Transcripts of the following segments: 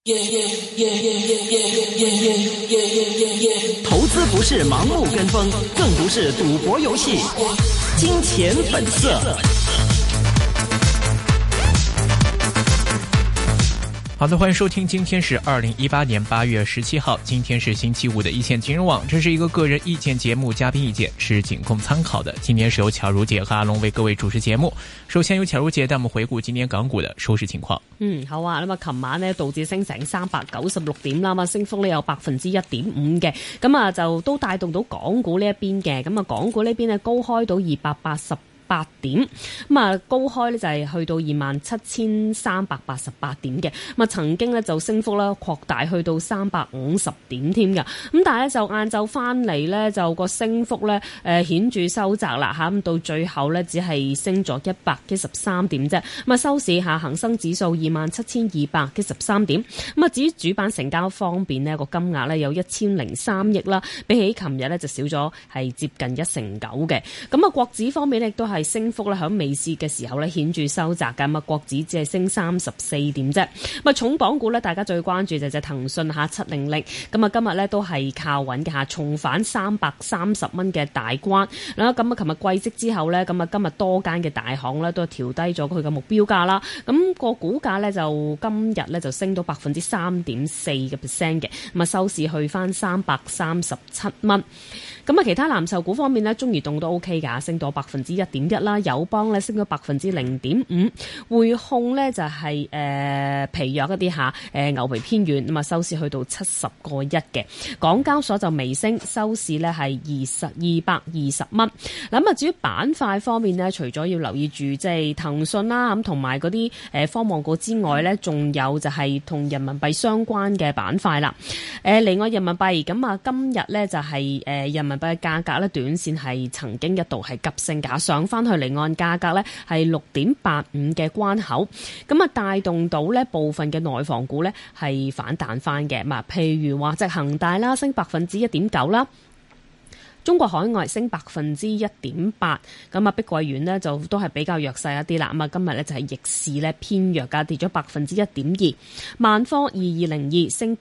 投资不是盲目跟风，更不是赌博游戏。金钱本色。 好的，欢迎收听，今天是2018年8月17号，今天是星期五的一线金融网，这是一个个人意见节目，嘉宾意见是仅供参考的。今天是由巧如姐和阿龙为各位主持節目。首先由巧如姐帶我們回顧今年港股的收市情況。 好啊，咁啊，琴晚呢道指升成396點啦，咁升幅呢有1.5%嘅，咁啊就都帶動到港股呢一邊嘅，咁啊港股呢邊呢高開到288點，咁啊高開呢就係去到27,388點嘅，咁啊曾經呢就升幅啦擴大去到350點添㗎，咁但係呢就晏晝翻嚟呢就個升幅呢顯著收窄啦嚇，咁到最後呢只係升咗113點啫，咁啊收市下恒生指數27,213點，咁啊至於主板成交方面呢個金額呢有1003億啦，比起琴日呢就少咗係接近1成9嘅，咁啊國指方面呢亦都係升幅咧，喺尾市嘅時候咧顯著收窄㗎，咁啊國指只係升34點啫。咁啊重磅股咧，大家最關注就係騰訊下700，咁啊今日咧都係靠穩嘅嚇，重返330蚊嘅大關啦。咁啊，琴日季績之後咧，咁啊今日多間嘅大行咧都調低咗佢嘅目標價啦。咁個股價咧就今日咧就升到3.4%嘅，咁啊收市去翻337蚊。咁啊，其他藍籌股方面呢，中移動都 OK 㗎，升到1.1%啦，友邦咧升咗0.5%，匯控呢就係疲弱一啲下，牛皮偏軟，咁啊收市去到70個1嘅，港交所就微升，收市呢係220蚊。咁啊，至於板塊方面呢，除咗要留意住即係騰訊啦，咁同埋嗰啲科網股之外呢，仲有就係同人民幣相關嘅板塊啦。另外人民幣咁啊，今日呢就係人民幣嘅價格咧，短線係曾經一度係急升㗎，上翻去離岸價格咧係6.85嘅關口，咁啊帶動到咧部分嘅內房股咧係反彈翻嘅，譬如話即係恒大啦，升1.9%啦。中國海外升1.8%，咁啊碧桂園呢就都係比較弱勢一啲啦。咁啊今日呢就係逆市呢偏弱㗎，跌咗1.2%。萬科2202升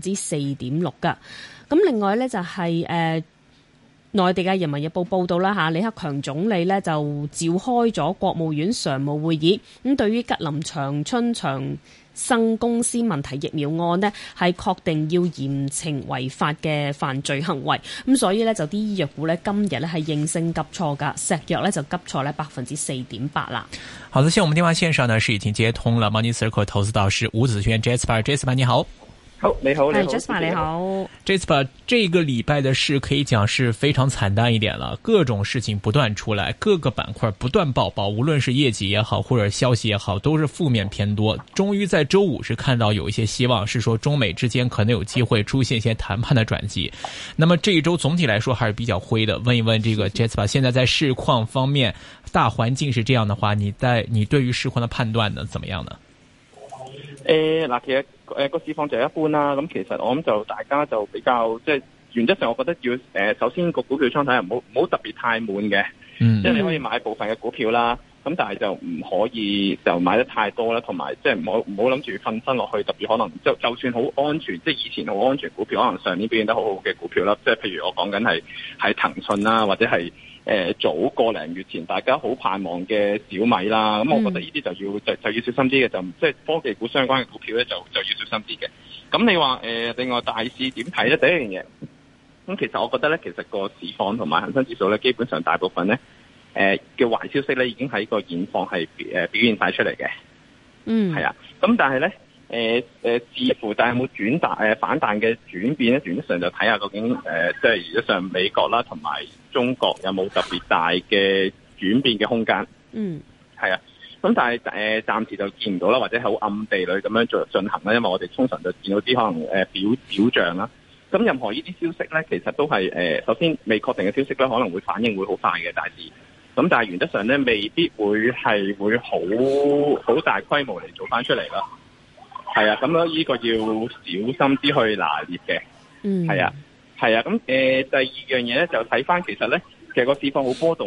4.6%㗎。咁另外呢就係內地嘅人民日報報道啦嚇，李克強總理呢就召開咗國務院常務會議，咁對於吉林長春長生公司問題疫苗案呢係確定要嚴懲違法嘅犯罪行為，咁所以呢，就啲醫藥股呢今日呢係應聲急挫㗎，石藥呢就急挫呢4.8%啦。 好的，現在我們電話線上呢是已經接通了 Money Circle 投資導師吳子軒 Jasper 你好。 好，你好 ，Jasper 你好。 Jasper， 這個禮拜的市可以講是非常慘淡一點了，各種事情不斷出來，各個板塊不斷爆爆，無論是業績也好，或者消息也好，都是負面偏多。終於在周五是看到有一些希望，是說中美之間可能有機會出現一些談判的轉機。那麼這一周總體來說還是比較灰的。問一問這個 Jasper， 現在在市況方面，大環境是這樣的話，你對於市況的判斷呢，怎麼樣呢？ 嗱，其實個市況就一般啦。咁其實我諗就大家就比較即係原則上，我覺得要首先個股票倉睇唔好特別太滿嘅，即係你可以買部分嘅股票啦。咁但係就唔可以就買得太多啦，同埋即係唔好諗住瞓身落去。特別可能就算好安全，即係以前好安全股票，可能上年表現得好好嘅股票啦。即係譬如我講緊係騰訊啦，或者係早個零月前大家好盼望嘅小米啦。咁我覺得呢啲就要小心啲嘅，就即係科技股相關嘅股票咧就要小心啲嘅。咁你話另外大市點睇咧？第一樣嘢，咁其實我覺得咧，其實個市況同埋恒生指數咧，基本上大部分咧嘅壞消息咧已經喺個現況係表現晒出嚟嘅。係啊。咁但係咧似乎但係有冇反彈嘅轉變咧？原則上就睇下究竟即係原則上美國啦同埋中國有冇特別大嘅轉變嘅空間。係啊。咁但係暫時就見唔到啦，或者好暗地裏咁樣進行啦，因為我哋通常就見到啲可能表象啦。咁任何呢啲消息咧，其實都係首先未確定嘅消息咧，可能會反應會好快嘅大市。咁但係原則上咧，未必會好大規模嚟做翻出嚟啦。係啊，咁呢個要小心啲去拿捏嘅。係啊。咁第二樣嘢咧就睇翻其實咧，其實個市況好波動啦。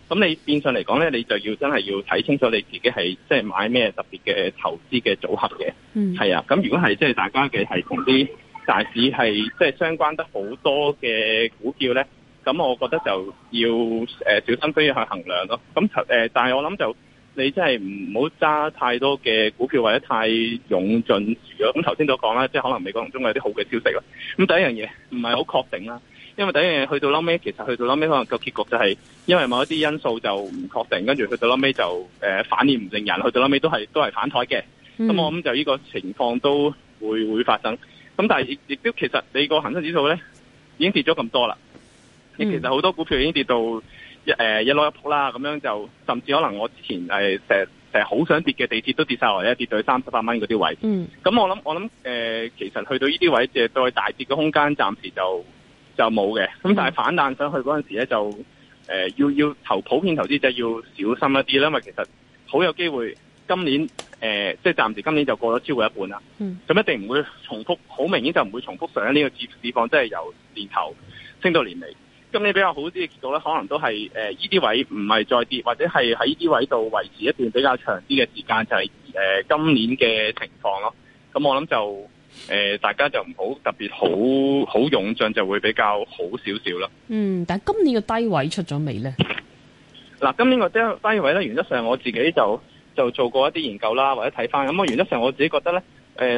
咁你變相嚟講咧，你就要真係要睇清楚你自己係即係買咩特別嘅投資嘅組合嘅。係啊，咁如果係即係大家嘅係同啲大市係即係相關得好多嘅股票咧，咁我覺得就要小心都要去衡量咯。咁但係我諗就你真係唔好揸太多嘅股票或者太勇進住咯。咁頭先都講啦，即係可能美國同中國有啲好嘅消息啦。咁第一樣嘢唔係好確定啦。因為第一樣嘢去到後尾，其實去到後尾可能個結局就係因為某一啲因素就唔確定，跟住去到後尾就反而唔令人，去到後尾都係反台嘅。咁我諗就呢個情況都會發生。咁但係亦都其實你個恒生指數咧已經跌咗咁多啦。其實好多股票已經跌到一攞一仆啦，咁樣就甚至可能我之前成日好想跌嘅地鐵都跌晒落嚟，跌到去38蚊嗰啲位。咁我諗其實去到呢啲位，即係再大跌嘅空間暫時就冇嘅，咁但係反彈上去嗰陣時咧，就要普遍投資者要小心一啲啦，因為其實好有機會今年即係暫時今年就過咗超過一半啦。咁一定唔會重複，好明顯就唔會重複上呢個市況，即係由年頭升到年尾。今年比較好啲嘅結果咧，可能都係呢啲位唔係再跌，或者係喺呢啲位度維持一段比較長啲嘅時間，就係今年嘅情況咯。咁我諗就大家就唔好特別好勇進，就會比較好少少啦。 但係今年嘅低位出咗未咧？ 嗱，今年個低位咧，原則上我自己就做過一啲研究啦，或者睇翻。咁我原則上我自己覺得咧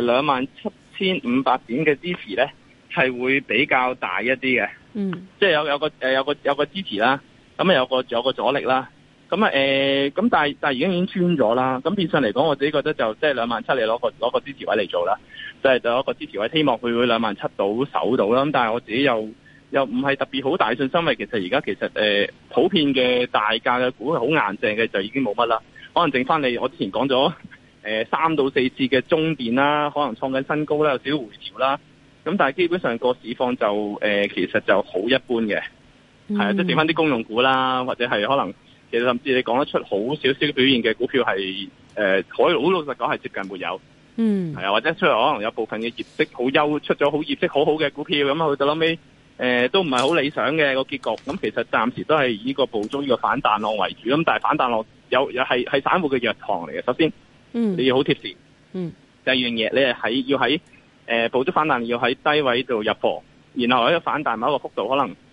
，27,500點嘅支持咧係會比較大一啲嘅。即係有個支持啦，咁有個阻力啦。咁但係而家已經穿咗啦。咁變相嚟講，我自己覺得就即係27,000你攞個支持位嚟做啦。就係有一個支持位，希望佢會27,000到守到啦。咁但係我自己又唔係特別好大信心，因為其實而家其實普遍嘅大價嘅股係好硬淨嘅，就已經冇乜啦。可能剩翻我之前講咗3到4次嘅中電啦，可能創緊新高啦，有少少回調啦。咁但係基本上個市況就其實就好一般嘅，係啊，即係剩翻啲公用股啦，或者係可能其實甚至你講得出好少少表現嘅股票係好老實講係接近沒有。係啊，或者出嚟可能有部分嘅業績出咗好業績好好嘅股票，咁去到後尾都唔係好理想嘅個結局。咁其實暫時都係以呢個捕捉呢個反彈浪為主。咁但係反彈浪有係散戶嘅藥堂嚟嘅。首先，你要好貼市。第二樣嘢，你要喺捕捉反彈，要喺低位度入貨，然後喺個反彈某一個幅度，可能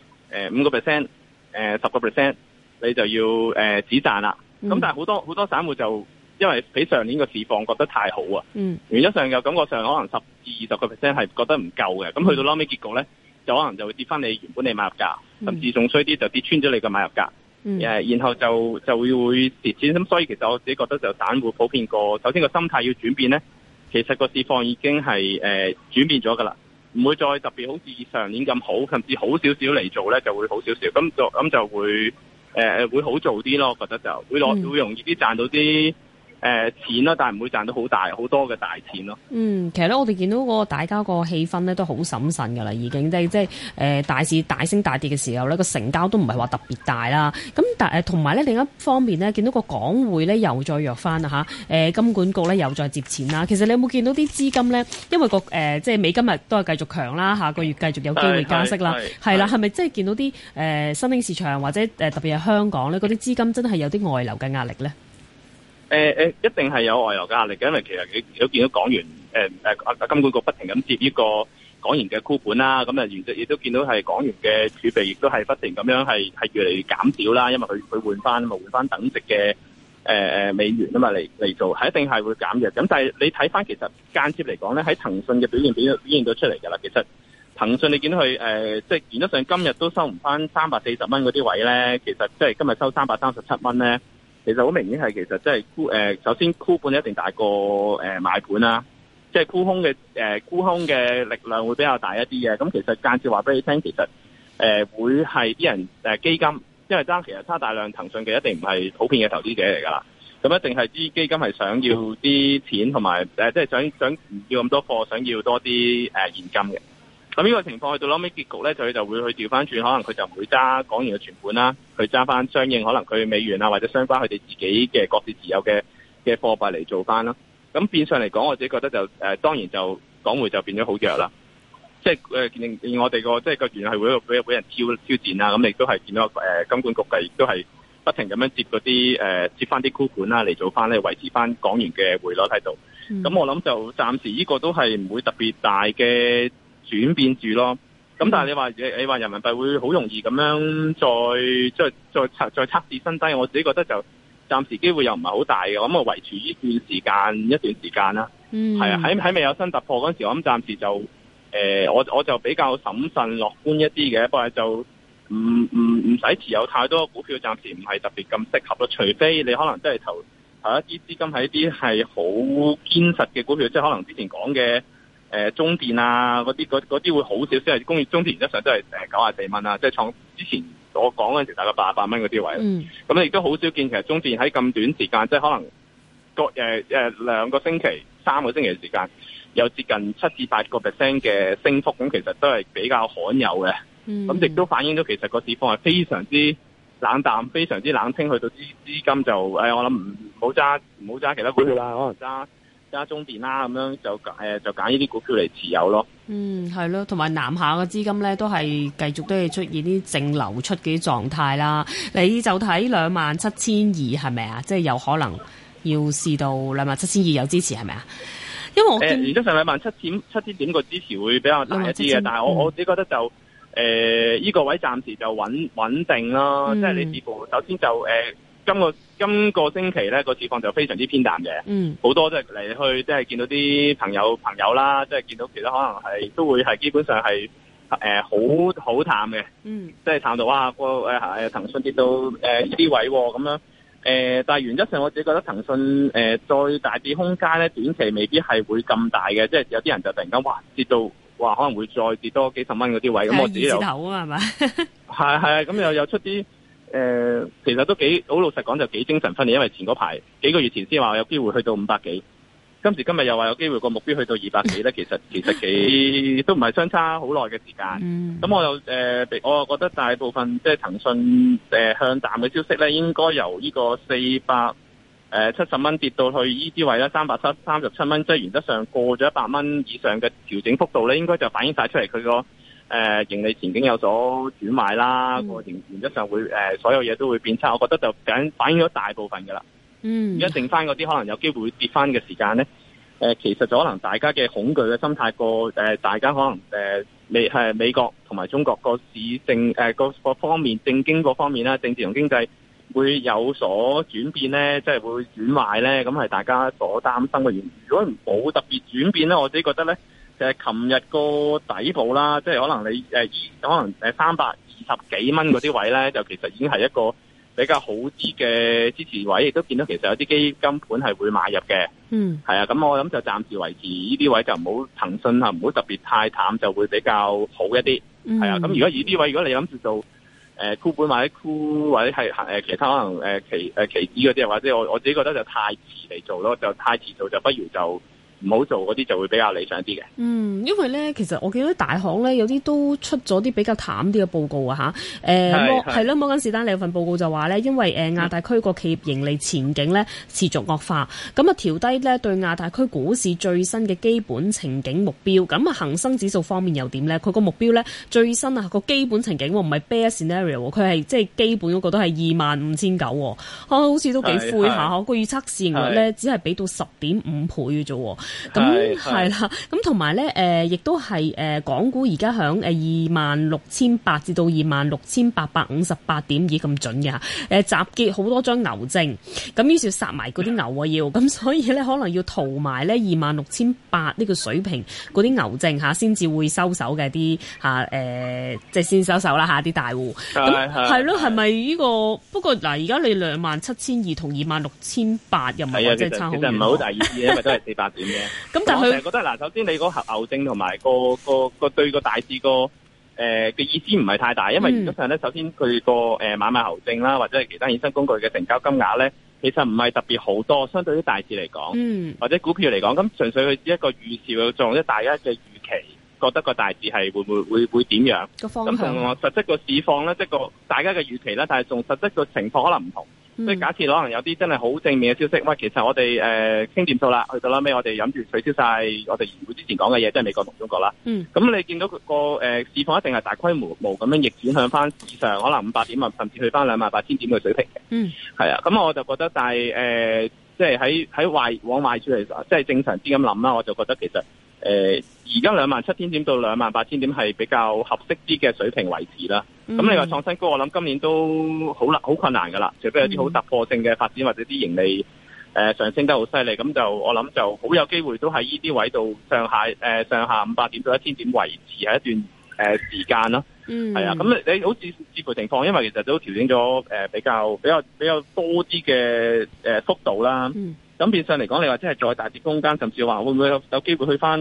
5%、10%，你就要止賺啦。咁但係好多散戶就因為比上年個市況覺得太好啊，原則上又感覺上可能10至20%係覺得唔夠嘅。咁去到撈尾結局咧，就可能就會跌翻你原本你買入價，甚至仲衰啲就跌穿咗你嘅買入價。然後就會蝕錢。咁所以其實我自己覺得就散戶普遍首先個心態要轉變咧。其實個市況已經係轉變咗噶啦，唔會再特別好似上年咁好，甚至好少少嚟做咧就會好少少，咁就會會好做啲咯。我覺得就會容易啲賺到啲錢啦，但係唔會賺到好多嘅大錢咯。其實咧我哋見到個大家個氣氛咧都好審慎噶啦，已經即係大市大升大跌嘅時候咧，個成交都唔係話特別大啦。咁但係同埋咧另一方面咧，見到個港匯咧又再弱翻啦嚇，金管局咧又再接錢啦。其實你有冇見到啲資金咧？因為即係美金日都係繼續強啦，下個月繼續有機會加息啦，係啦，係咪即係見到啲新興市場或者特別係香港咧，嗰啲資金真係有啲外流嘅壓力咧？ 一定係有外流嘅壓力嘅，因為其實你都見到港元金管局不停咁接呢個港元嘅沽盤啦，咁亦都見到係港元嘅儲備亦都係不停咁樣係越嚟越減少啦，因為佢換翻等值嘅美元啊嘛嚟做，係一定係會減弱。咁但係你睇翻其實間接嚟講咧，喺騰訊嘅表現到出嚟㗎啦。其實騰訊你見到佢即係原則上今日都收唔翻340蚊嗰啲位咧，其實即係今日收337蚊咧。其實好明顯係其實即係首先沽盤一定大過買盤啦，即係沽空嘅力量會比較大一啲嘅。咁其實間接話俾你聽，其實會係啲人基金，因為其實揸大量騰訊嘅一定唔係普遍嘅投資者嚟㗎啦。咁一定係啲基金係想要啲錢同埋即係想唔要咁多貨，想要多啲現金嘅。咁呢個情況去到後尾結局咧，佢就會去調翻轉，可能佢就唔會揸港元嘅存款啦，佢揸翻相應可能佢美元啊或者相關佢哋自己嘅各自持有嘅貨幣嚟做翻啦。咁變相嚟講，我自己覺得就當然就港匯就變咗好弱啦。即係令我哋即係個元係會俾人挑戰啦。咁亦都係見到金管局亦都係不停咁樣接翻啲沽盤啦，嚟做翻咧維持翻港元嘅匯率喺度。咁我諗就暫時呢個都係唔會特別大嘅轉變住咯。咁但係你話人民幣會好容易咁樣再測試新低，我自己覺得就暫時機會又唔係好大嘅。咁我維持一段時間啦。係啊，喺未有新突破嗰陣時，我諗暫時就我就比較審慎樂觀一啲嘅，不過就唔使持有太多股票，暫時唔係特別咁適合咯。除非你可能真係投一啲資金喺一啲係好堅實嘅股票，即係可能之前講嘅中電啊嗰啲會好少少，係工業中電原則上都係94蚊啊，即係創之前我講嗰陣時大概88蚊嗰啲位。咁你亦都好少見其實中電喺咁短時間，即係可能2個星期、3個星期嘅時間，有接近7至8個%嘅升幅，咁其實都係比較罕有嘅。咁亦都反映到其實個市況係非常之冷淡、非常之冷清，去到資金就我諗唔好揸其他股票啦，可能揸中電啦，咁樣就揀呢啲股票嚟持有咯。 係咯，同埋南下嘅資金咧都係繼續都係出現啲淨流出嘅狀態啦。你就睇27,200係咪啊？即係有可能要試到27,200有支持係咪啊？因為我原則上27,000點個支持會比較大一啲嘅，但係我自己覺得就呢個位暫時就穩定啦。即係你似乎首先就今個星期咧個市況就非常之偏淡嘅，好多即係嚟去即係見到啲朋友啦，即係見到其他可能係都會係基本上係好淡嘅，即係淡到哇騰訊跌到呢啲位咁樣。但係原則上我自己覺得騰訊再大跌空間咧，短期未必係會咁大嘅，即係有啲人就突然間跌到可能會再跌多幾十蚊嗰啲位，咁我自己又頭啊係咪？ 係咁又出啲其實都好老實講就幾精神分裂，因為前嗰排幾個月前先話有機會去到500幾，今時今日又話有機會個目標去到200幾咧，其實幾都唔係相差好耐嘅時間。咁我又我覺得大部分即係騰訊向淡嘅消息咧，應該由呢個470蚊跌到去呢啲位啦，337蚊，即係原則上過咗100蚊以上嘅調整幅度咧，應該就反映晒出嚟佢個盈利前景有所轉壞啦，個原則上會所有嘢都會變差，我覺得就反映咗大部分㗎啦。而家剩翻嗰啲可能有機會會跌翻嘅時間咧，其實就可能大家嘅恐懼嘅心態過大家可能美國同埋中國個市政個方面政經嗰方面啦，政治同經濟會有所轉變咧，即係會轉壞咧，咁係大家所擔心嘅原因。如果冇特別轉變咧，我自己覺得咧，就係琴日個底部啦，即係可能你可能320幾蚊嗰啲位咧，就其實已經係一個比較好啲嘅支持位，亦都見到其實有啲基金盤係會買入嘅。係啊，咁我諗就暫時維持呢啲位，就唔好騰訊唔好特別太淡，就會比較好一啲。係啊，咁如果呢啲位，如果你諗住做沽盤或者係其他可能期指嗰啲，或者我自己覺得就太遲嚟做咯，就太遲做就不如就唔好做嗰啲就會比較理想啲嘅。因為咧，其實我見到大行咧有啲都出咗啲比較淡啲嘅報告啊嚇。係咯，摩根士丹利有份報告就話咧，因為亞太區個企業盈利前景咧持續惡化，咁啊調低咧對亞太區股市最新嘅基本情景目標。咁啊恒生指數方面又點咧？佢個目標咧最新啊個基本情景唔係 bear scenario， 佢係即係基本嗰個都係25,900。好似都幾灰下，個預測市盈率咧只係俾到10.5倍嘅啫。咁係啦，咁同埋咧，亦都係港股而家響26,800至到26,858點已咁準嘅嚇，集結好多張牛證，咁於是要殺埋嗰啲牛啊要，咁所以咧可能要屠埋咧26,800呢個水平嗰啲牛證嚇，先至會收手嘅啲嚇即係先收手啦嚇啲大戶。咁係咯，係咪呢個？不過嗱，而家你27,200同26,800又唔係即係差好遠。其實唔係好大意思，因為都係400點嘅。咁但係我成日覺得嗱，首先你嗰牛證同埋個對個大市嘅意思唔係太大，因為原則上咧，首先佢個買賣牛證啦，或者係其他衍生工具嘅成交金額咧，其實唔係特別好多，相對於大市嚟講，或者股票嚟講，咁純粹佢只一個預兆嘅作用，即係大家嘅預期，覺得個大市係會點樣？咁同實質個市況咧，即係大家嘅預期啦，但係從實質個情況可能唔同。 即係假設可能有啲真係好正面嘅消息，喂，其實我哋傾掂數啦，去到啦尾我哋諗住取消晒我哋議會之前講嘅嘢，即係美國同中國啦。咁你見到個市況一定係大規模咁樣逆轉向翻市上，可能500點啊，甚至去翻28,000點嘅水平嘅。係啊，咁我就覺得，但係即係喺往壞處嚟，即係正常啲咁諗啦，我就覺得其實而家27,000點到28,000點係比較合適啲嘅水平維持啦。咁你話創新高，我諗今年都好困難噶啦，除非有啲好突破性嘅發展或者啲盈利上升得好犀利，咁就我諗就好有機會都喺呢啲位度上下500點到1,000點維持係一段時間咯。係啊，咁你好似視乎情況，因為其實都調整咗比較多啲嘅幅度啦。咁變相嚟講，你話真係再大啲空間，甚至話會唔會有機會去翻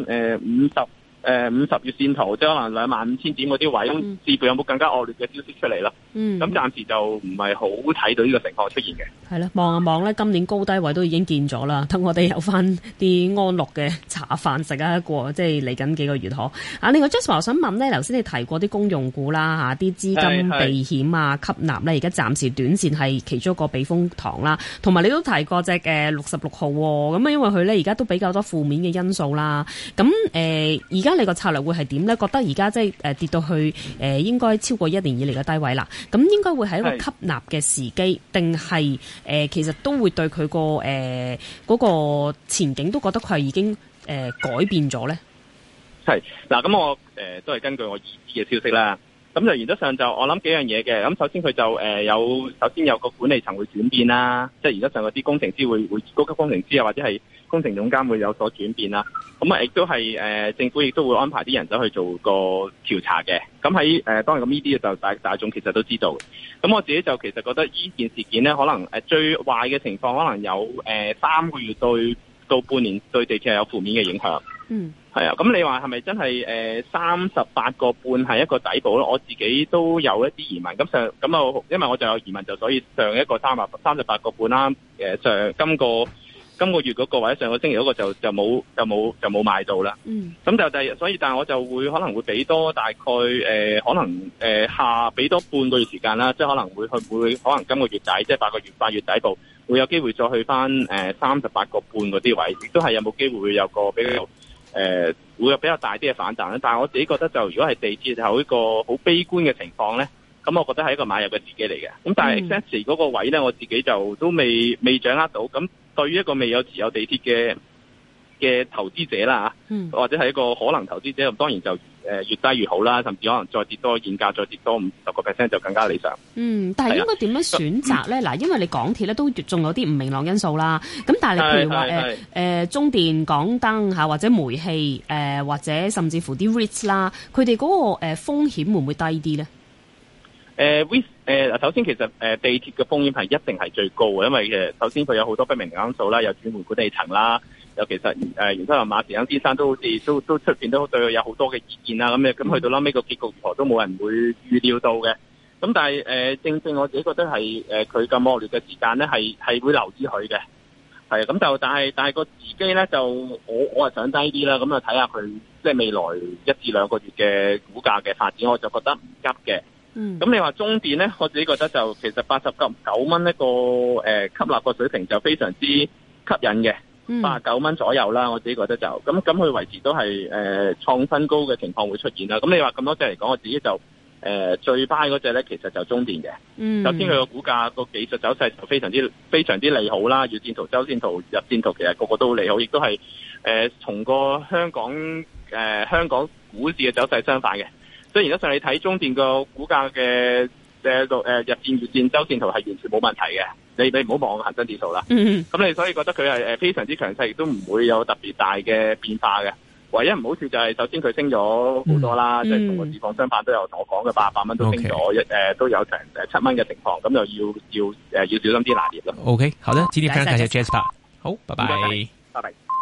50月線圖，即係可能25,000點嗰啲位，視乎有冇更加惡劣嘅消息出嚟啦。咁暫時就唔係好睇到呢個情況出現嘅。係啦， 望一望咧，今年高低位都已經見咗啦，等我哋有翻啲安樂嘅茶飯食啊，即係嚟緊幾個月嗬。另外 Jasper 我想問咧，頭先你提過啲公用股啦，啲資金避險啊吸納咧，而家暫時短線係其中一個避風塘啦。同埋你都提過隻66號喎，咁因為佢咧而家都比較多負面嘅因素啦。咁而家你個策略會係點咧？覺得而家即係跌到去應該超過1年以嚟嘅低位啦。咁應該會係一個吸納嘅時機，定係其實都會對佢嗰個前景都覺得佢係已經改變咗咧？ 係嗱，咁我都係根據我已知嘅消息啦。咁就原則上就我諗幾樣嘢嘅。咁首先佢就首先有個管理層會轉變啦，即係原則上嗰啲工程師會高級工程師啊，或者係工程總監會有所轉變啦。咁啊，亦都係政府亦都會安排啲人走去做個調查嘅。咁喺當然咁呢啲就大眾其實都知道。咁我自己就其實覺得呢件事件咧，可能最壞嘅情況可能有3個月到半年對地鐵係有負面嘅影響。係啊，咁你話係咪真係38個半係一個底部咯？我自己都有一啲疑問。因為我就有疑問，就所以上一個38個半啦。上今個月嗰個或者上個星期嗰個就冇買到啦。咁所以但係我就可能會俾多大概可能俾多半個月時間啦，即係可能會可能今個月底即係8月底部會有機會再去翻38個半嗰啲位，亦都係有冇機會有個比較會有比較大啲嘅反彈咧。但係我自己覺得就如果係地鐵有一個好悲觀嘅情況咧，咁我覺得係一個買入嘅時機嚟嘅。咁但係 exactly 嗰個位咧，我自己就都未掌握到。咁對於一個未有持有地鐵嘅投資者啦，或者係一個可能投資者，咁當然就越低越好啦，甚至可能再跌多現價，再跌多50% 就更加理想。但係應該點樣選擇咧？嗱，因為你港鐵咧都仲有啲唔明朗因素啦。咁但係你譬如話中電、港燈嚇，或者煤氣或者甚至乎啲 REITs 啦，佢哋嗰個風險會唔會低啲咧？首先其實地鐵嘅風險係一定係最高嘅，因為首先佢有好多不明因素啦，有轉換管理層啦，有其實袁生同馬時亨先生都好似都出邊都對佢有好多嘅意見啦，咁去到後尾個結局如何都冇人會預料到嘅。咁但係正我自己覺得係佢咁惡劣嘅時間咧，係會留意佢嘅。係咁就但係個時機咧就我係想低啲啦，咁啊睇下佢即係未來1至2個月嘅股價嘅發展，我就覺得唔急嘅。咁你話中電咧，我自己覺得就其實89蚊一個吸納個水平就非常之吸引嘅，89蚊左右啦，我自己覺得就咁佢維持都係創新高嘅情況會出現啦。咁你話咁多隻嚟講，我自己就最 buy 嗰隻咧，其實就中電嘅。首先佢個股價個技術走勢就非常之利好啦，月線圖、周線圖、日線圖其實個個都利好，亦都係同個香港股市嘅走勢相反嘅。所以原則上你睇中電個股價嘅日線、月線、周線圖係完全冇問題嘅。你唔好望恒生指數啦。咁你所以覺得佢係非常之強勢，亦都唔會有特別大嘅變化嘅。唯一唔好處就係首先佢升咗好多啦，即係同個市況相反都有同我講嘅800蚊都升咗，都有成7蚊嘅情況，咁就要小心啲拿捏咯。 OK， 好的，今天非常感謝 Jasper， 好，拜拜， 拜拜。